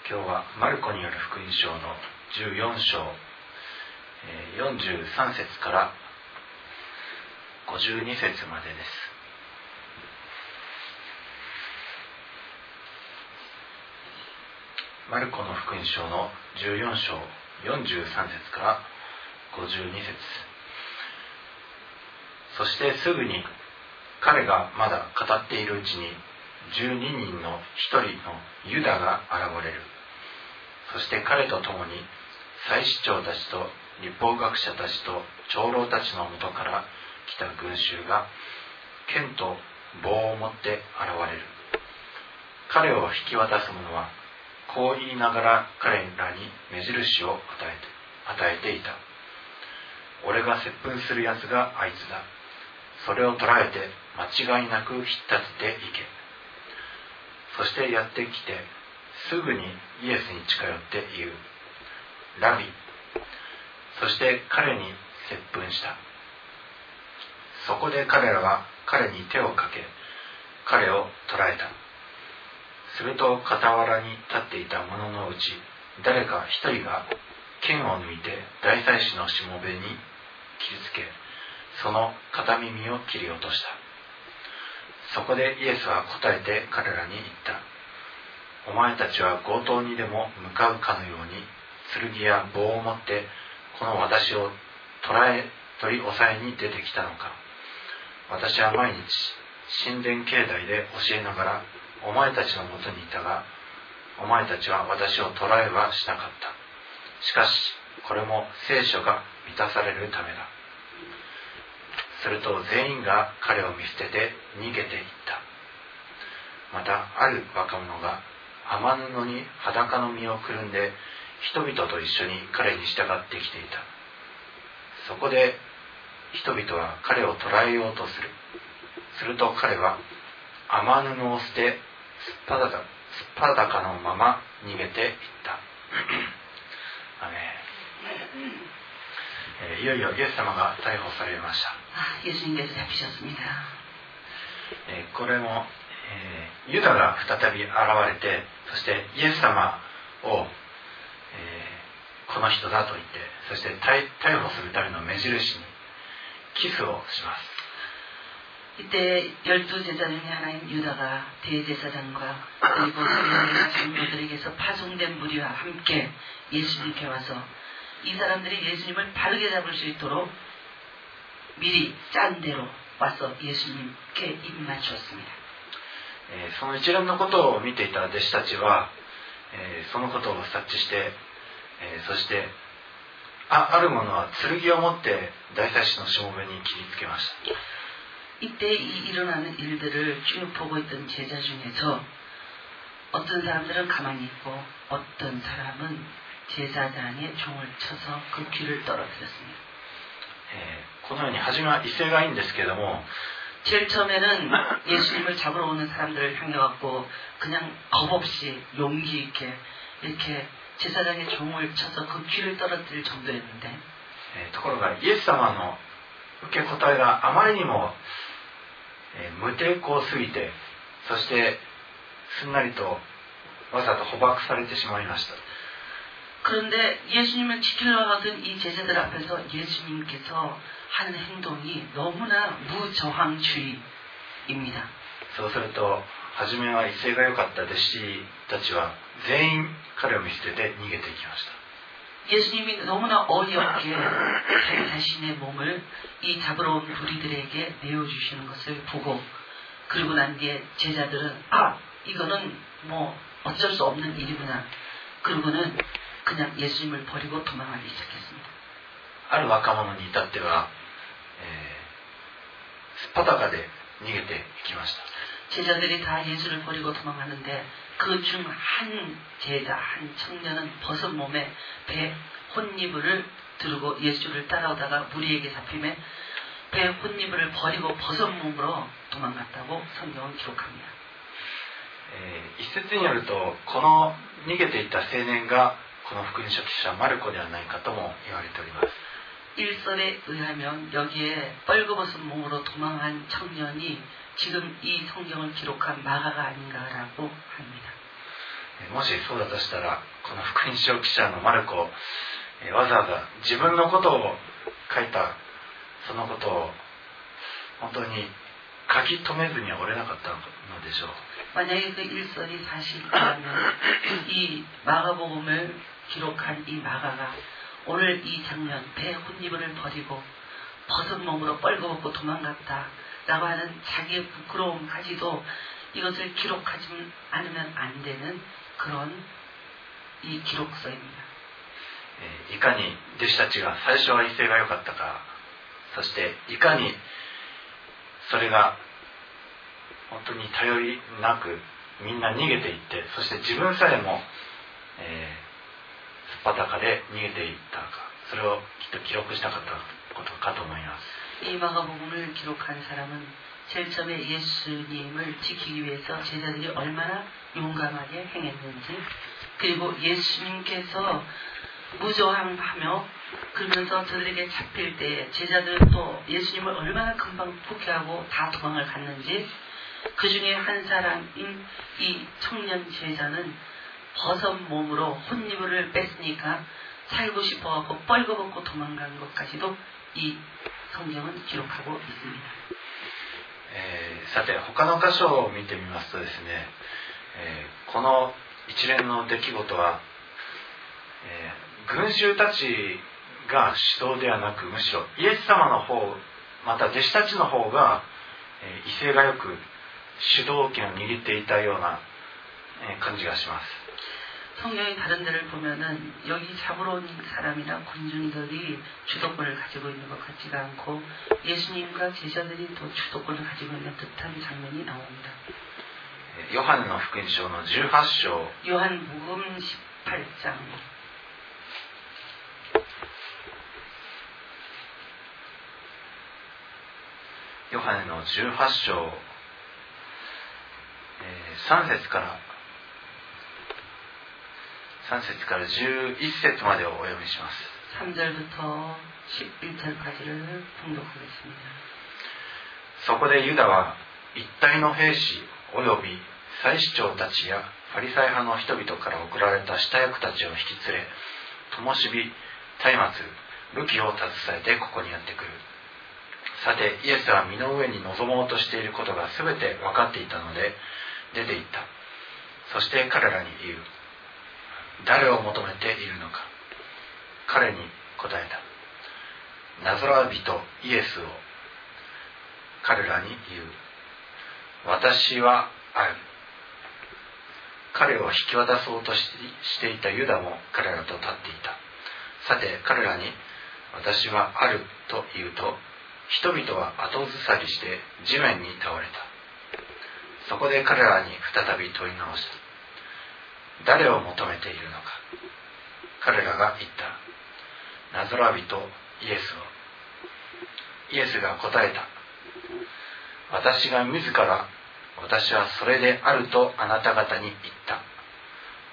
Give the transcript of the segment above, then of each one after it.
今日はマルコによる福音書の14章43節から52節までです。マルコの福音書の14章43節から52節。そしてすぐに彼がまだ語っているうちに12人の一人のユダが現れる。そして彼と共に祭司長たちと律法学者たちと長老たちのもとから来た群衆が剣と棒を持って現れる。彼を引き渡す者はこう言いながら彼らに目印を与えていた。俺が接吻するやつがあいつだ。それを捕らえて間違いなく引っ立てていけ。そしてやってきてすぐにイエスに近寄って言う。ラビ。そして彼に接吻した。そこで彼らは彼に手をかけ彼を捕らえた。すると傍らに立っていた者のうち誰か一人が剣を抜いて大祭司のしもべに切りつけ、その片耳を切り落とした。そこでイエスは答えて彼らに言った。お前たちは強盗にでも向かうかのように剣や棒を持ってこの私を取り押さえに出てきたのか。私は毎日神殿境内で教えながらお前たちのもとにいたが、お前たちは私を捕らえはしなかった。しかしこれも聖書が満たされるためだ。すると全員が彼を見捨てて逃げていった。またある若者が雨布に裸の身をくるんで人々と一緒に彼に従ってきていた。そこで人々は彼を捕らえようとする。すると彼は雨布を捨てすっぱだかのまま逃げていった。アメン。いよいよイエス様が逮捕されました。これも、ユダが再び現れて、そしてイエス様を、この人だと言って、そして逮捕するための目印にキスをします。 이때 12제자 중에 하나인 유다가 대제사장과 그리고 서기관과 장로들에게서 파송된 무리와 함께 예수님께 와서 이 사람들이 예수님을 바르게 잡을 수 있도록 미리 짠 대로 와서 예수님께 입 맞추었습니다. その一連のことを見ていた弟子たちは、そのことを察知して、そしてある者は剣を持って大祭司のしもべに切りつけました。 이때 일어나는 일들을 쭉 보고 있던 제자 중에서 어떤 사람들은 가만히 있고 어떤 사람은 제사장의 종을 쳐서 그 귀를 떨어뜨렸습니다. このように初めは威勢がいいんですけれども 제일 처음에는 예수님을 잡으러 오는 사람들을 향해갖고 그냥 겁없이 용기 있게 이렇게 제사장의 종을 쳐서 그 귀를 떨어뜨릴 정도였는데 ところがイエス様の受け答えがあまりにも無抵抗すぎて、そしてすんなりとわざと捕獲されてしまいました。 그런데 예수님을 지키러 가던 이 제자들 앞에서 예수님께서 하는 행동이 너무나 무저항주의입니다. そうすると初めは威勢が良かった弟子たちは全員彼を見捨てて逃げていきました。 예수님이 너무나 어이없게 자신의 몸을 이 잡으러 온 무리들에게 내어주시는 것을 보고 그리고 난 뒤에 제자들은 이거는 뭐 어쩔 수 없는 일이구나. 그러고는 그냥 예수님을 버리고 도망하기 시작했습니다. ある若者に至っては、すっぱだかで逃げていきました。 제자들이 다 예수를 버리고 도망하는데 그 중 한 제자, 한 청년은 벗은 몸에 배 혼니부를 두르고 예수를 따라오다가 무리에게 잡히며 배 혼니부를 버리고 벗은 몸으로 도망갔다고 성경은 기록합니다. 一説によるとこの逃げていった青年がこの福音書記者マルコではないかとも言われております。 일설에 의하면 여기에 뻘거벗은 몸으로 도망한 청년이 지금 이 성경을 기록한 마가가 아닌가라고 합니다. もしそうだとしたら、この福音書記者のマルコ、わざわざ自分のことを書いたそのことを本当に書き留めずにはおれなかったのでしょう。 만약에 그 일설이 사실이라면 이 마가복음을 기록한 이 마가가 오늘 이 장면, 배 혼입을 버리고 벗은 몸으로 뻘거벗고 도망갔다라고 하는 자기의 부끄러움까지도 이것을 기록하지 않으면 안 되는 그런 이 기록서입니다. いかに弟子たちが最初は威勢が良かったか、そしていかにそれが本当に頼りなくみんな逃げていって、そして自分さえも、すっぱだかで逃げていったか、それをきっと記録したかったことかと思います。 이 마가복음을 기록한 사람은 제일 처음에 예수님을 지키기 위해서 제자들이 얼마나 용감하게 행했는지, 그리고 예수님께서 무저항하며 그러면서 저들에게 잡힐 때 제자들은 또 예수님을 얼마나 금방 포기하고 다 도망을 갔는지, 그 중에 한 사람인 이 청년 제자는 벗은 몸으로 혼이불을 뺐으니까 살고 싶어갖고 뻘거벗고 도망간 것까지도 이 성경은 기록하고 있습니다. さて他の箇所を見てみますとですね、この一連の出来事は、群衆たちが主導ではなく、むしろイエス様の方、また弟子たちの方が、威勢がよく主導権を握っていたような、感じがします。 성경의 다른 데를 보면은 여기 잡으러 온 사람이나 군중들이 주도권을 가지고 있는 것 같지가 않고 예수님과 제자들이 또 주도권을 가지고 있는 듯한 장면이 나옵니다. ヨハネの福音書の18章 요한복음 18장 ヨハネの18章、3節から11節までをお読みします。 3절부터 11절까지를 봉독하겠습니다. そこでユダは一体の兵士および祭司長たちやファリサイ派の人々から送られた下役たちを引き連れ、灯火、松明、武器を携えてここにやってくる。さてイエスは身の上に臨もうとしていることがすべて分かっていたので出て行った。そして彼らに言う。誰を求めているのか。彼に答えた。ナザレ人イエスを。彼らに言う。私はある。彼を引き渡そうとしていたユダも彼らと立っていた。さて彼らに私はあると言うと、人々は後ずさりして地面に倒れた。そこで彼らに再び問い直した。誰を求めているのか。彼らが言った。ナザレ人イエスを。イエスが答えた。私が自ら、私はそれであるとあなた方に言った。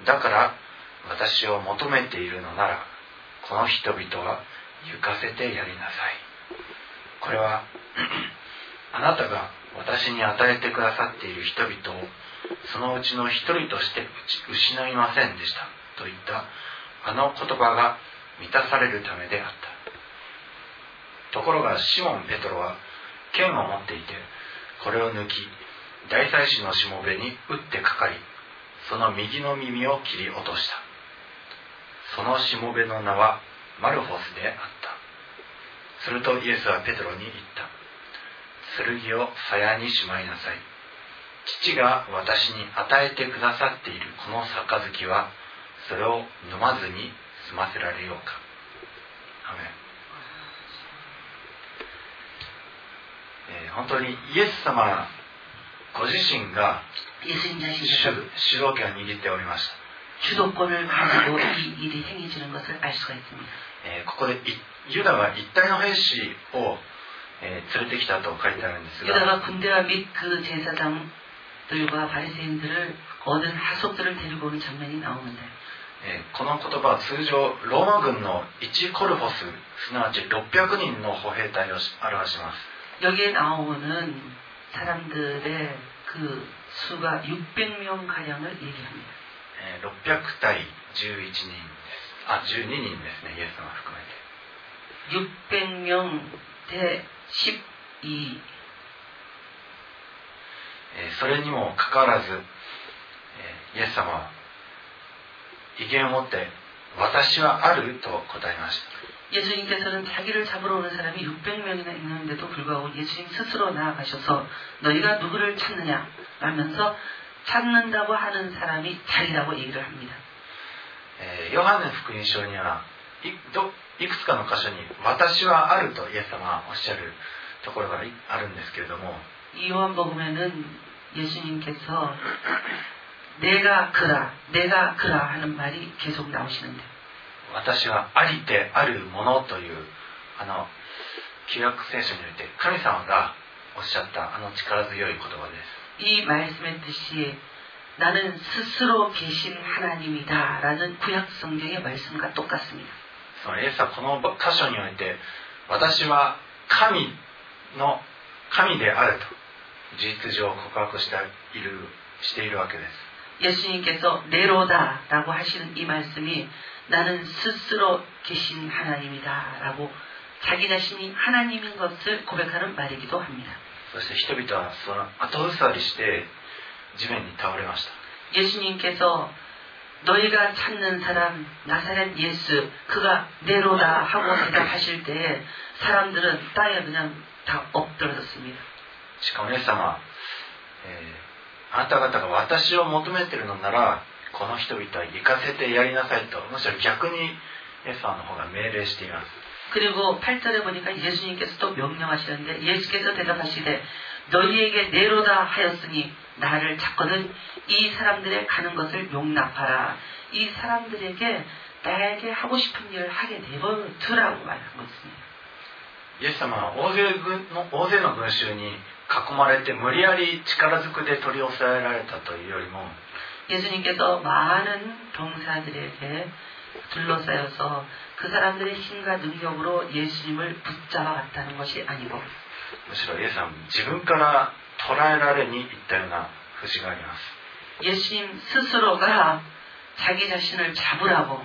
だから私を求めているのなら、この人々は行かせてやりなさい。これはあなたが私に与えてくださっている人々をそのうちの一人として失いませんでしたといったあの言葉が満たされるためであった。ところがシモン・ペトロは剣を持っていて、これを抜き大祭司のしもべに打ってかかり、その右の耳を切り落とした。そのしもべの名はマルフォスであった。するとイエスはペトロに言った。剣を鞘にしまいなさい。父が私に与えてくださっているこの杯は、それを飲まずに済ませられようか。アメン。本当にイエス様ご自身が主導権を握っておりました。 주도권을 가지고 이 일이 행해지는 것을 알 수가 있습니다. ここでユダが一体の兵士を連れてきたと書いてあるんですが、 유다가 군대와 및 그 제사장들과 바리새인들을 얻은 하속들을 데리고 오는 장면이 나오는데, この言葉は通常ローマ軍の1コルフォス、すなわち600人の歩兵隊を表します。 여기에 나오는 사람들의 그 수가 600명 가량을 얘기합니다. 600対11人です。あ、12人ですね、イエス様含めて。 600명 대 12。 それにもかかわらず、イエス様は威厳を持って私はあると答えました。 예수님께서는 자기를 잡으러 오는 사람이 600명이나 있는데도 불구하고 예수님 스스로 나아가셔서 너희가 누구를 찾느냐 라면서 찾는다고 하는 사람이 자리라고 얘기를 합니다. ヨハネ福音書にはいくつかの箇所に私はあるとイエス様はおっしゃるところがあるんですけれども、 이 요한복음에는 예수님께서 내가 그라 하는 말이 계속 나오시는데, 私はありてあるものという旧約聖書において神様がおっしゃった力強い言葉です。 이 말씀의 뜻이 나는 스스로 계신 하나님이다 라는 구약 성경의 말씀과 똑같습니다. そのイエスはこの箇所において私は神であると事実上告白しているわけです。 예수님께서 네로다라고 하시는 이 말씀이 나는 스스로 계신 하나님이다 라고 자기 자신이 하나님인 것을 고백하는 말이기도 합니다. そして人々はその後ずさりして地面に倒れました。 예수님께서 너희가 찾는 사람 나사렛 예수 그가 네로다 하고 대답하실 때에 사람들은 땅에 그냥 다 엎드러졌습니다. しかもイエス様は、あなた方が私を求めているのならこの人々は行かせてやりなさいと、むしろ逆にイエス様の方が命令しています。 그리고 8절에 보니까 예수님께서 또 명령하시는데 예수께서 대답하시되 너희에게 네로다 하였으니 나를 찾거든 이 사람들의 가는 것을 용납하라. 이 사람들에게 나에게 하고 싶은 일을 하게 내버려두라고 말한 것입니다. イエス様は大勢の群衆に囲まれて無理やり力ずくで取り押さえられたというよりも 예수님께서 많은 병사들에게 둘러싸여서 그 사람들의 힘과 능력으로 예수님을 붙잡아갔다는 것이 아니고 むしろイエス様は自分から捕らえられに行ったような節があります。 예수님 스스로가 자기 자신을 잡으라고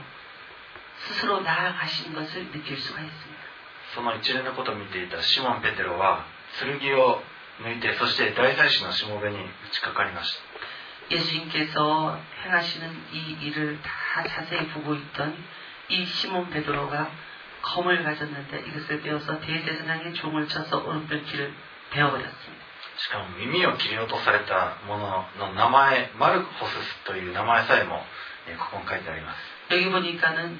스스로 나아가신 것을 느낄 수가 있습니다. その一連のことを見ていたシモン・ペテロは剣を抜いてそして大祭司のしもべに打ちかかりました。 예수님께서 행하시는 이 일을 다 자세히 보고 있던 이 시몬 베드로가 검을 가졌는데 이것을 빼어서 대제사장의 종을 쳐서 오른편 귀를 베어버렸습니다. しかも耳を切り落とされたものの名前マルコスという名前さえもここに書いてあります。 여기 보니까는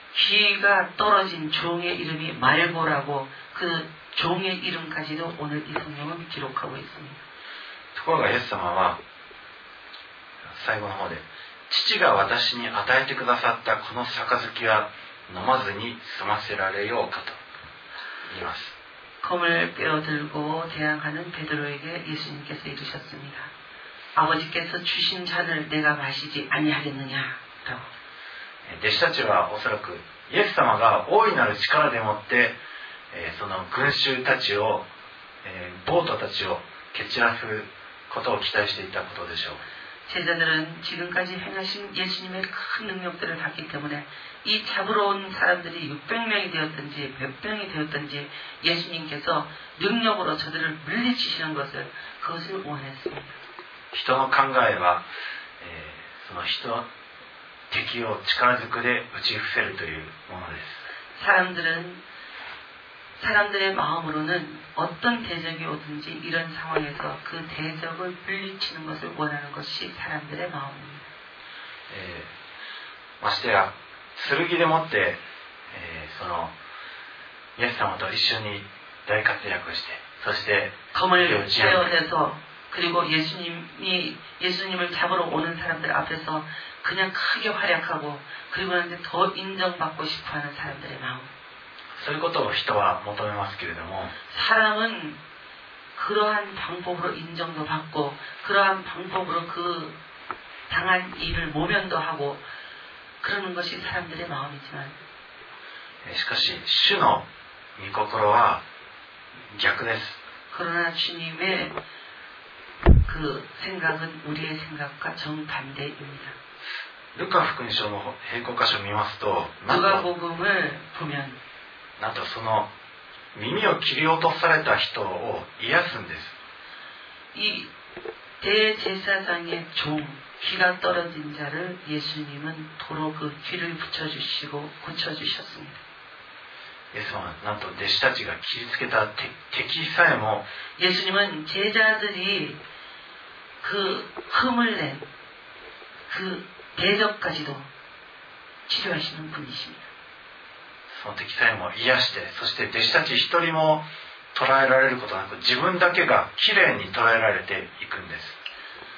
귀가 떨어진 종의 이름이 말고라고 그 종의 이름까지도 오늘 이 성경은 기록하고 있습니다. ところがイエス様は最後の方で父が私に与えてくださったこの杯は飲まずに済ませられようかと言います。 검을 빼어들고 대항하는 베드로에게 예수님께서 이르셨습니다. 아버지께서 주신 잔을 내가 마시지 아니하겠느냐라고. 弟子たちはおそらくイエス様が大いなる力でもってその群衆たちを暴徒たちを蹴散らすことを期待していたことでしょう。 제자들은 지금까지 행하신 예수님의 큰 능력들을 봤기 때문에 이 잡으러 온 사람들이 600명이 되었든지 몇 명이 되었든지 예수님께서 능력으로 저들을 물리치시는 것을 그것을 원했습니다. 人の考えは、その敵を力ずくで打ち伏せるというものです。 사람들의 마음으로는 어떤 대적이 오든지 이런 상황에서 그 대적을 물리치는 것을 원하는 것이 사람들의 마음입니다. ましてや剣でもって、そのイエス様と一緒に大活躍してそして 검을 떼어내서 그리고 예수님을 잡으러 오는 사람들 앞에서 그냥 크게 활약하고 그리고 나서 더 인정받고 싶어하는 사람들의 마음. そういうことを人は求めますけれども 사람은 그러한 방법으로 인정도 받고 그러한 방법으로 그 당한 일을 모면도 하고 그러는 것이 사람들의 마음이지만 しかし主の御心は逆です。 그러나 주님의 그 생각은 우리의 생각과 정반대입니다. ルカ福音書の並行箇所を見ますと、なん 누가복음을 보면 とその耳を切り落とされた人を癒すんです。 이 대제사장의 종, 귀가 떨어진 자를 예수님은 도로 그 귀를 붙여주시고 고쳐주셨습니다. イエス様はなんと弟子たちが切りつけた敵さえも 예수님은 제자들이 그 흠을 낸 그 대적까지도 치료하시는 분이십니다. その敵さえも癒して、そして弟子たち一人も捉えられることなく、自分だけがきれいに捉えられていくんです。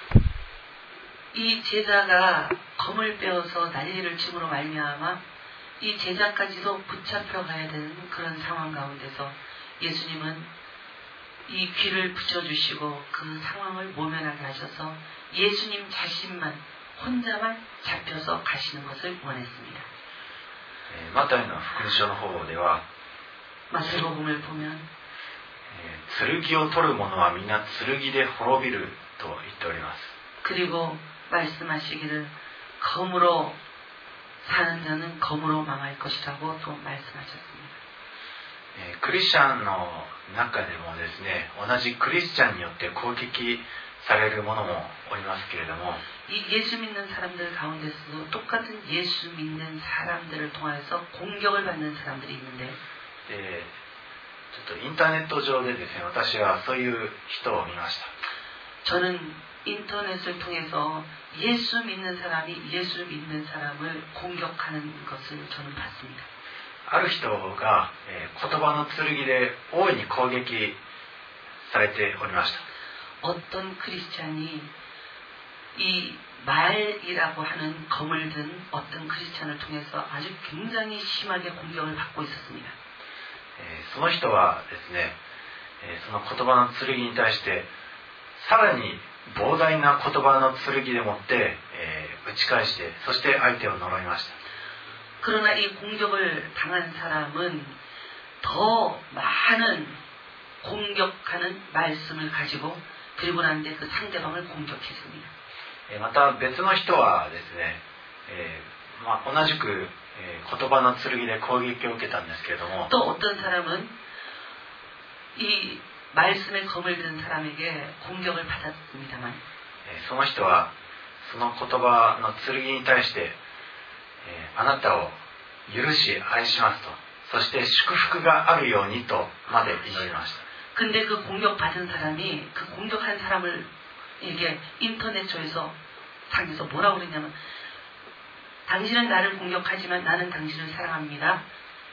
이 제자가 검을 빼어서 난리를 침으로 말미암아 이 제자까지도 붙잡혀 가야 되는 그런 상황 가운데서 예수님은 이 귀를 붙여주시고 그 상황을 모면하게 하셔서 예수님 자신만 혼자만 잡혀서 가시는 것을 원했습니다. マタイの福音書の方では 마태복음을 보면 剣を取る者は皆剣で滅びると言っております。 그리고 말씀하시기를 검으로 사는 자는 검으로 망할 것이라고 또 말씀하셨습니다. クリスチャンの中でもですね、同じクリスチャンによって攻撃される者もおりますけれども、 이 예수 믿는 사람들 가운데서도 똑같은 예수 믿는 사람들을 통해서 공격을 받는 사람들이 있는데, ちょっとインターネット上でですね、私はそういう人を見ました。 저는 인터넷을 통해서 예수 믿는 사람이 예수 믿는 사람을 공격하는 것을 저는 봤습니다. ある人が、言葉の剣で大いに攻撃されておりました。 어떤 크리스찬이 이 말이라고 하는 검을 든 어떤 크리스찬을 통해서 아주 굉장히 심하게 공격을 받고 있었습니다. その人はですね、その言葉の剣に対してさらに膨大な言葉の剣でもって、打ち返して、そして相手を呪いました。 그러나 이 공격을 당한 사람은 더 많은 공격하는 말씀을 가지고 그리고 난 뒤에 그 상대방을 공격했습니다. また別の人はですね、同じく、言葉の剣で攻撃を受けたんですけれども、 또 어떤 사람은 이 말씀의 검을 든 사람에게 공격을 받았습니다만, その人はその言葉の剣に対して、あなたを許し愛しますと、そして祝福があるようにとまで祈りました。 근데 그 공격받은 사람이 그 공격한 사람에게 인터넷에서 상에서 뭐라고 그랬냐면, 당신은 나를 공격하지만 나는 당신을 사랑합니다.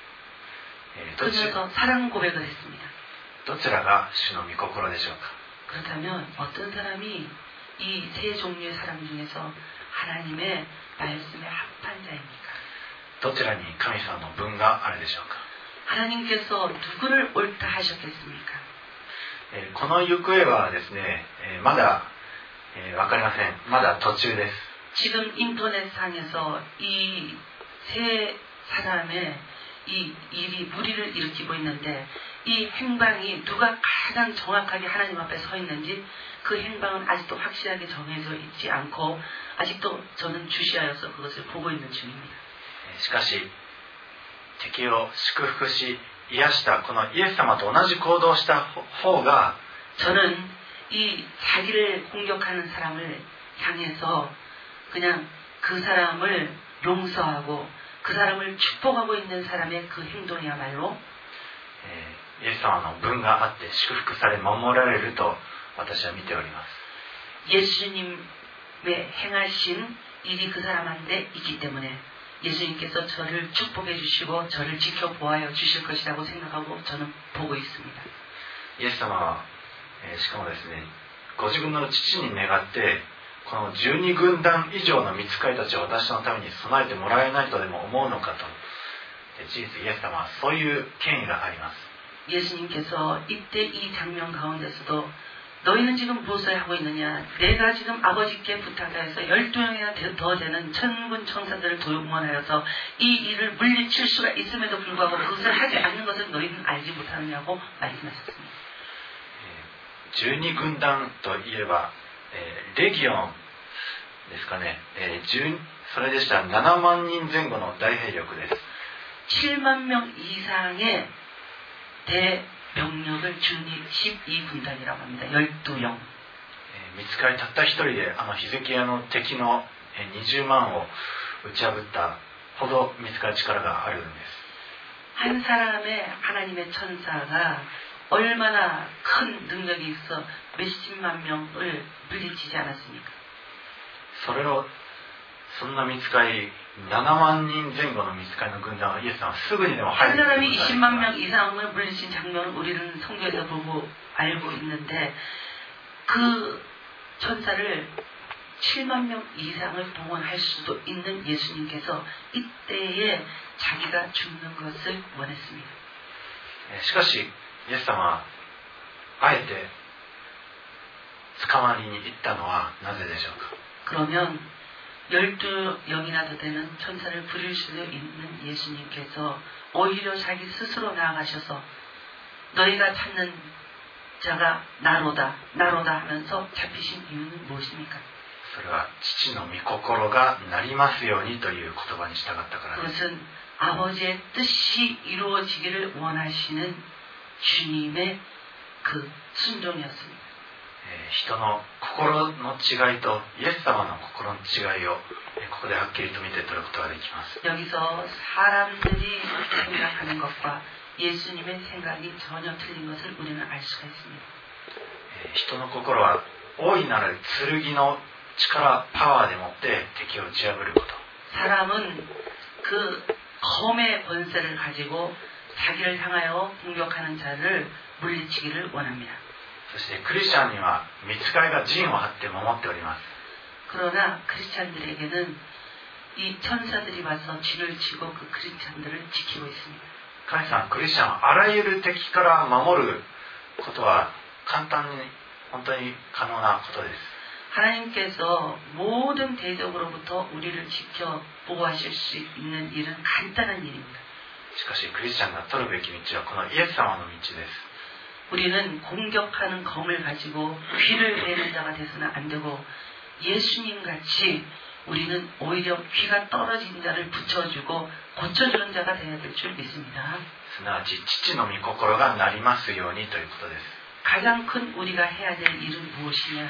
그러면서 사랑 고백을 했습니다. どちらが主の御心でしょうか。 그렇다면 어떤 사람이 이 세 종류의 사람 중에서 하나님의 말씀에 합한 자입니까? どちらに神様の分があるでしょうか。 하나님께서 누구를 옳다 하셨겠습니까? この行方はですね、まだわかりません。まだ途中です。 지금 인터넷상에서 이 세 사람의 이 일이 무리를 일으키고 있는데, 이 행방이 누가 가장 정확하게 하나님 앞에 서 있는지 그 행방은 아직도 확실하게 정해져 있지 않고 아직도 저는 주시하여서 그것을 보고 있는 중입니다. しかし敵を祝福し癒したこのイエス様と同じ行動をした方が 저는 이 자기를 공격하는 사람을 향해서 그냥 그 사람을 용서하고 그 사람을 축복하고 있는 사람의 그 행동이야말로 イエス様の分があって祝福され守られると私は見ております。 예수님의 행하신 일이 그 사람한테 있기 때문에 예수님께서 저를 축복해 주시고 저를 지켜보아여 주실 것이라고 생각하고 저는 보고 있습니다. イエス様は、しかもですね、ご自分の父に願ってこの12軍団以上の御使いたちを私のために備えてもらえないとでも思うのかと。事実イエス様はそういう権威があります。 예수님께서 이때 이 장면 가운데서도 너희는 지금 무엇을 하고 있느냐? 내가 지금 아버지께 부탁하여서 12명이나 더 되는 천군 천사들을 동원하여서 이 일을 물리칠 수가 있음에도 불구하고 그것을 하지 않는 것을 너희는 알지 못하느냐고 말씀하셨습니다. 12軍団といえば、レギオンですかね、それでしたら7万人前後の大兵力です。 7만 명 이상의 대병력을 준이 12군단이라고 합니다. 12영. 見つかりたった一人でヒゼキヤの敵の20万を打ち破ったほど見つかる力があるんです。 한 사람의 하나님의 천사가 얼마나 큰 능력이 있어 몇십만 명을 물리치지 않았습니까? そんな見つかり7万人前後の見つかりの軍団はイエス様はすぐにでも入 한 る 사람이 20만 명 이상을 물리친 장면을 우리는 성경에서 보고 알고 있는데 그 천사를 7만 명 이상을 동원할 수도 있는 예수님께서 이때에 자기가 죽는 것을 원했습니다. しかしイエス様はあえて捕まりに行ったのはなぜでしょうか。 그러면 12영이나 되는 천사를 부릴 수도 있는 예수님께서 오히려 자기 스스로 나아가셔서 너희가 찾는 자가 나로다 하면서 잡히신 이유는 무엇입니까? それは父の御心がなりますようにという言葉に従ったからです。 그것은 아버지의 뜻이 이루어지기를 원하시는 주님의 그 순종이었습니다. 人の心の違いとイエス様の心の違いをここではっきりと見て取ることができます。 여기서 사람들이 생각하는 것과 예수님의 생각이 전혀 틀린 것을 우리는 알 수가 있습니다. 人の心は大いなる剣の力、パワーでもって敵を打ち破ること。 사람은 그 검의 권세를 가지고 자기를 향하여 공격하는 자를 물리치기를 원합니다. そしてクリスチャンには御使いが陣を張って守っております。 그러나 크리스찬들에게는 이 천사들이 와서 진을 치고 그 크리스찬들을 지키고 있습니다. 神様、クリスチャンはあらゆる敵から守ることは簡単に本当に可能なことです。 하나님께서 모든 대적으로부터 우리를 지켜 보호하실 수 있는 일은 간단한 일입니다. しかしクリスチャンが取るべき道はこのイエス様の道です。 우리는 공격하는 검을 가지고 귀를 내는 자가 돼서는 안 되고 예수님 같이 우리는 오히려 귀가 떨어진 자를 붙여주고 고쳐주는 자가 되어야 될 줄 믿습니다. すなわち父の御心がなりますようにということです。 가장 큰 우리가 해야 될 일은 무엇이냐?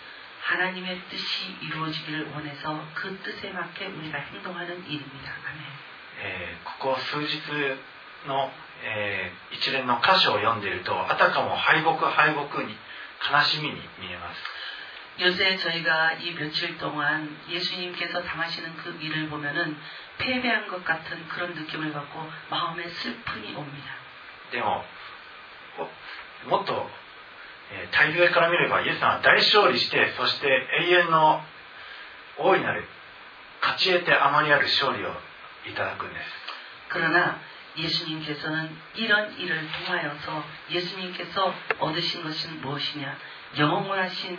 하나님의 뜻이 이루어지기를 원해서 그 뜻에 맞게 우리가 행동하는 일입니다. 아멘. ここ数日の、一連の箇所を読んでいるとあたかも敗北に悲しみに見えます。 요새 저희가 이 며칠 동안 예수님께서 당하시는 그 일을 보면은 패배한 것 같은 그런 느낌을 받고 마음에 슬픔이 옵니다. でももっと大陸から見ればイエス様は大勝利してそして永遠の大いなる勝ち得てあまりある勝利をいただくんです。 그러나 예수님께서는 이런 일을 통하여서 예수님께서 얻으신 것은 무엇이냐? 영원하신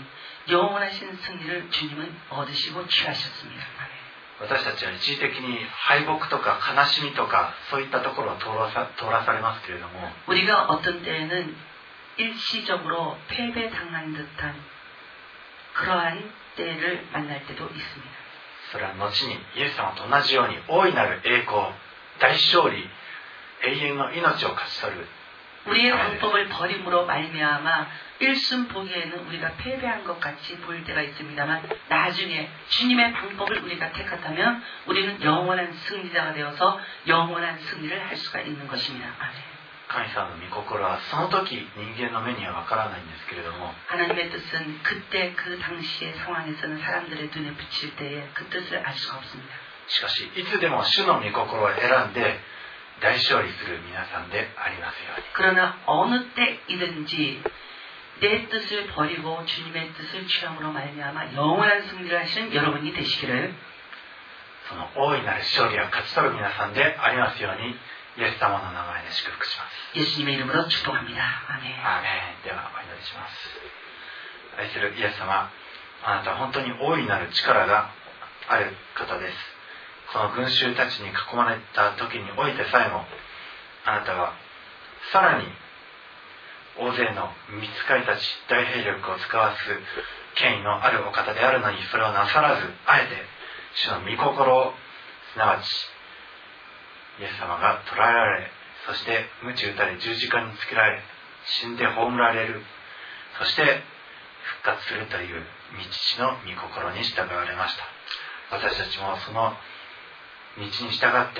승리를 주님은 얻으시고 취하셨습니다. 私たちは一時的に敗北とか悲しみとかそういったところを通らされますけれども 우리가 어떤 때에는 일시적으로 패배당한 듯한 그러한 때를 만날 때도 있습니다. それは後にイエス様と同じように大いなる栄光、大勝利、永遠の命を勝ち取る 우리의 방법을 버림으로 말미암아 일순 보기에는 우리가 패배한 것 같이 보일 때가 있습니다만 나중에 주님의 방법을 우리가 택한다면 우리는 영원한 승리자가 되어서 영원한 승리를 할 수가 있는 것입니다. 아멘. 神様の御心はその時人間の目にはわからないんですけれども 하나님의 뜻은 그때 그 당시의 상황에서는 사람들의 눈에 비칠 때에 그 뜻을 알 수가 없습니다. しかしいつでも主の御心を選んで大勝利する皆さんでありますように 그러나 어느 때이든지 내 뜻을 버리고 주님의 뜻을 취함으로 말미암아 영원한 승리를 하시는 여러분이 되시기를 その大いなる勝利を勝ち取る皆さんでありますようにイエス様の名前で祝福します。 예수님의 이름으로 축복합니다. 아멘. アーメン。ではお祈りします。愛するイエス様、あなたは本当に大いなる力がある方です。この群衆たちに囲まれた時においてさえもあなたはさらに大勢の御使いたち大兵力を使わす権威のあるお方であるのにそれをなさらず、あえて主の御心を、すなわちイエス様が捕らえられ、そして鞭打たれ十字架につけられ、死んで葬られる、そして復活するという道の御心に従われました。私たちもその道に従って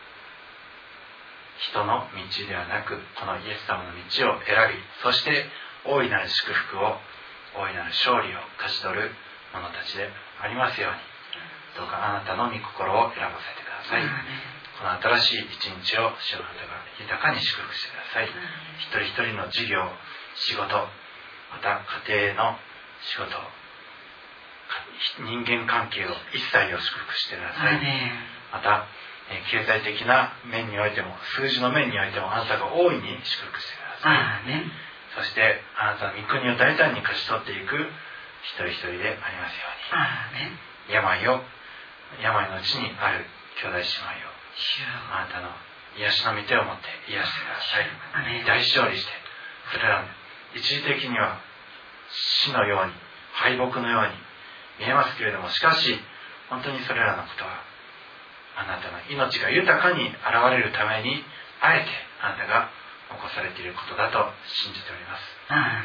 人の道ではなく、このイエス様の道を選び、そして大いなる祝福を、大いなる勝利を勝ち取る者たちでありますように、どうかあなたの御心を選ばせてください。この新しい一日を主の方が豊かに祝福してください。一人一人の事業、仕事、また家庭の仕事、人間関係を一切を祝福してください。また経済的な面においても、数字の面においても、あなたが大いに祝福してください。そしてあなたの御国を大胆に勝ち取っていく一人一人でありますように、病のうちにある兄弟姉妹をあなたの癒しの御手を持って癒してください。大勝利して、それらの一時的には死のように、敗北のように見えますけれども、しかし本当にそれらのことはあなたの命が豊かに現れるために、あえてあなたが起こされていることだと信じております。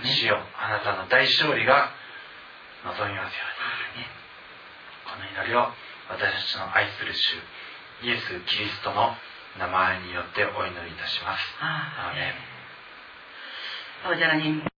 主よ、あなたの大勝利が望みますように、この祈りを私たちの愛する主イエス・キリストの名前によってお祈りいたします。アーメン。